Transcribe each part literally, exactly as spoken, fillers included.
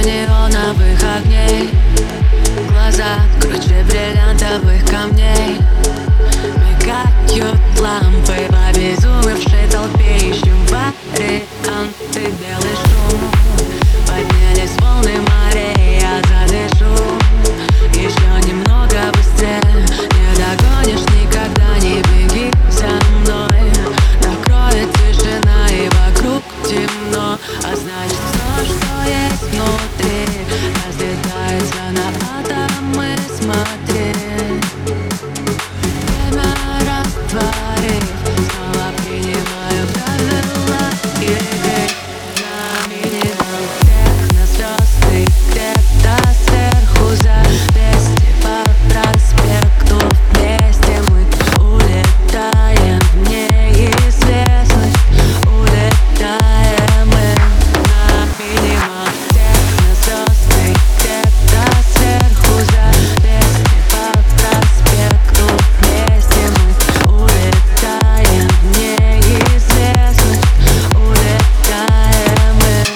неоновых огней, глаза круче бриллиантовых камней. Мигают лампы в обезумевшей толпе. Ищем варианты, белый шум. Поднялись волны морей, я задышу. Еще немного быстрее, не догонишь никогда, не беги за мной. Накроет тишина и вокруг темно, а значит все, что есть внутри, разлетается на атомы, смотри. Время растворив, снова принимаю правила игры. На минимум техно звезды, где-то сверху за двести по проспекту. Вместе мы улетаем в неизвестность, улетаем мы. На минимум техно звезды, где-то сверху за двести по проспекту. Вместе мы улетаем в неизвестность, улетаем мы.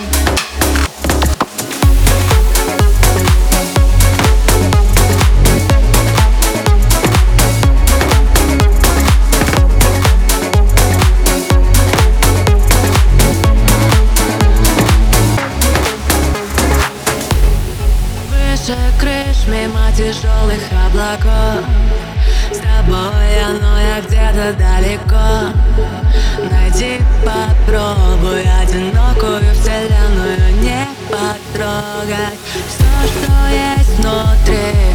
Выше крыш, мимо тяжелых облаков. С тобой я, но я где-то далеко. Найди, попробуй одинокую вселенную не потрогать. Все, что есть внутри,